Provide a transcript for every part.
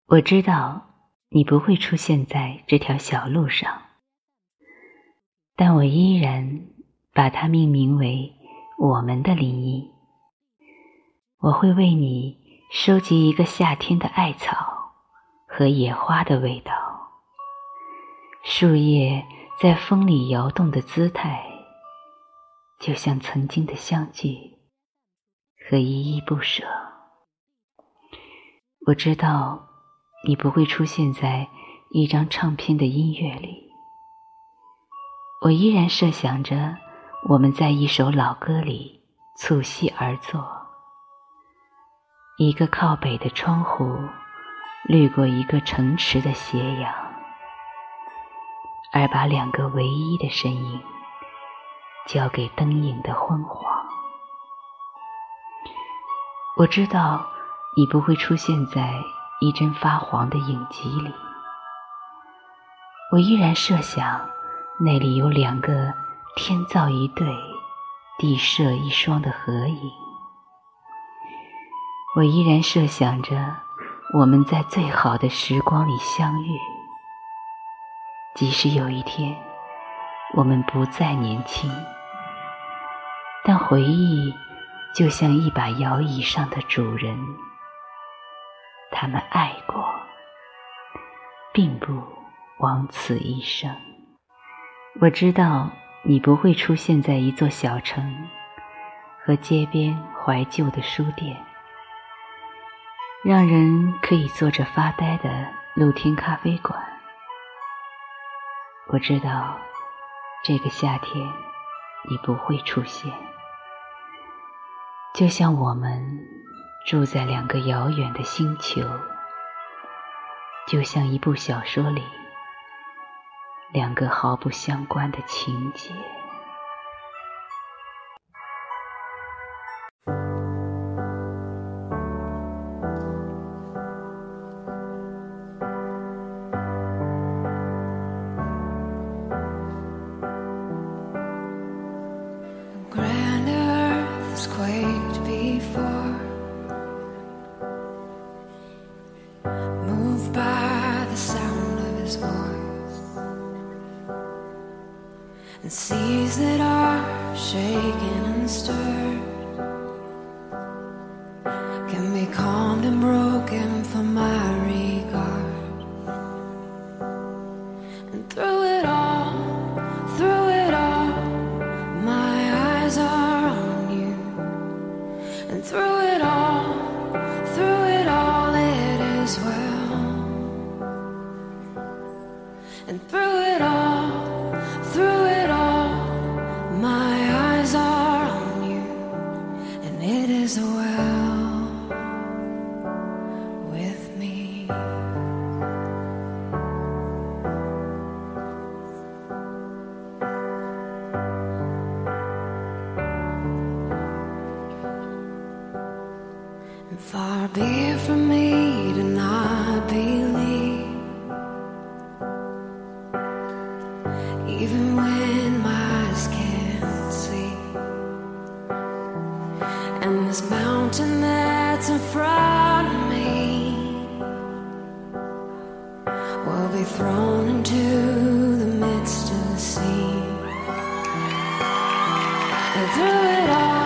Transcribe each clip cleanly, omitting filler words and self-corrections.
我知道你不会出现在这条小路上，但我依然把它命名为我们的林荫。我会为你收集一个夏天的艾草和野花的味道，树叶在风里摇动的姿态，就像曾经的相聚和依依不舍。我知道你不会出现在一张唱片的音乐里，我依然设想着我们在一首老歌里促膝而坐，一个靠北的窗户掠过一个城池的斜阳，而把两个唯一的身影交给灯影的昏黄。我知道你不会出现在一帧发黄的影集里，我依然设想那里有两个天造一对地设一双的合影，我依然设想着我们在最好的时光里相遇，即使有一天我们不再年轻，但回忆就像一把摇椅上的主人，他们爱过，并不枉此一生。我知道你不会出现在一座小城和街边怀旧的书店，让人可以坐着发呆的露天咖啡馆。我知道这个夏天你不会出现，就像我们住在两个遥远的星球，就像一部小说里两个毫不相关的情节。 Quaked before, moved by the sound of his voice, and seas that are shaken and stirred can be calmed and broken for my regard. And through it all, my eyes are on you. And through it all, it is well. And through it all, my eyes are on you, and it is well with me. Far be it from me to not believe, even when my eyes can't see. And this mountain that's in front of me will be thrown into the midst of the sea. And through it all,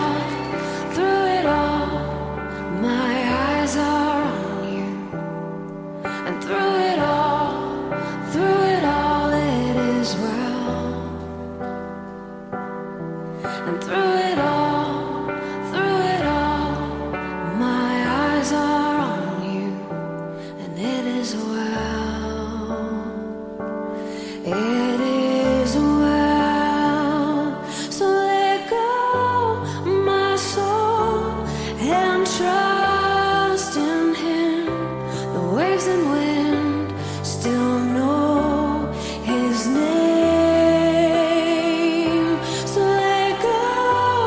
my eyes are on you. And through it all, it is well. And through it all, my eyes are on you, and it is well. It is well. So let go, my soul, and trust in him. The waves and wind still know his name. So let go,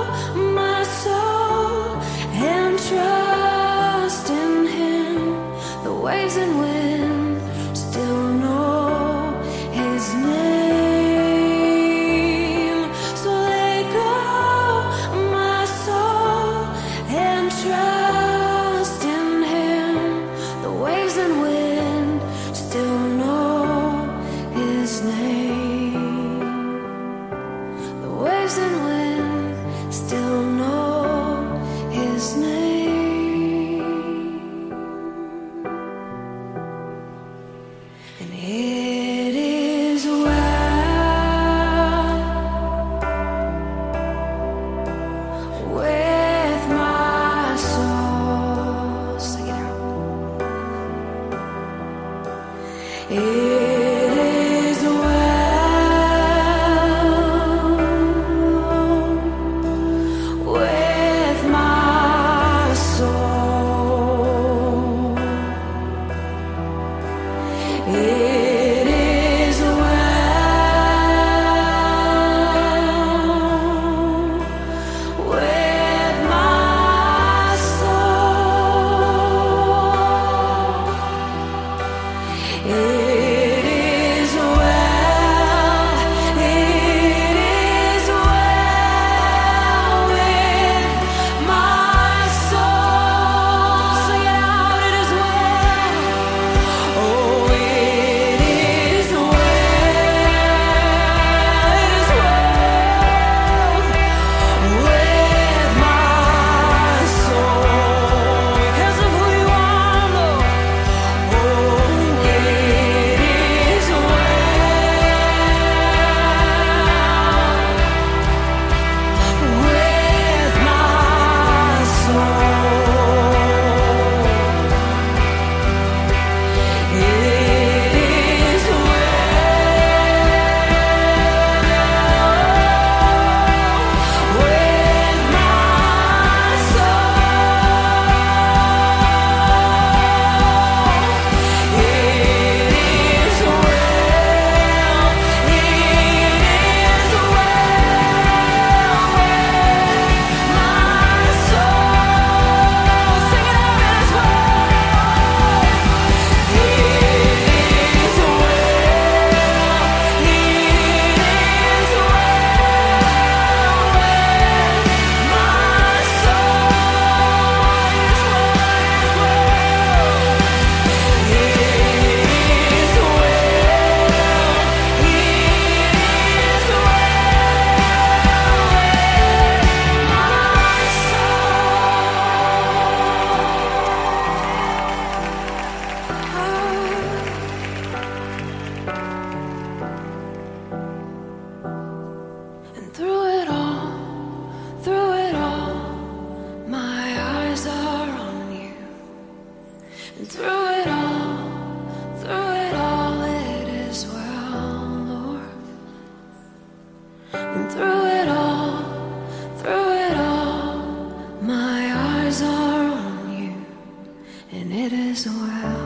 is well.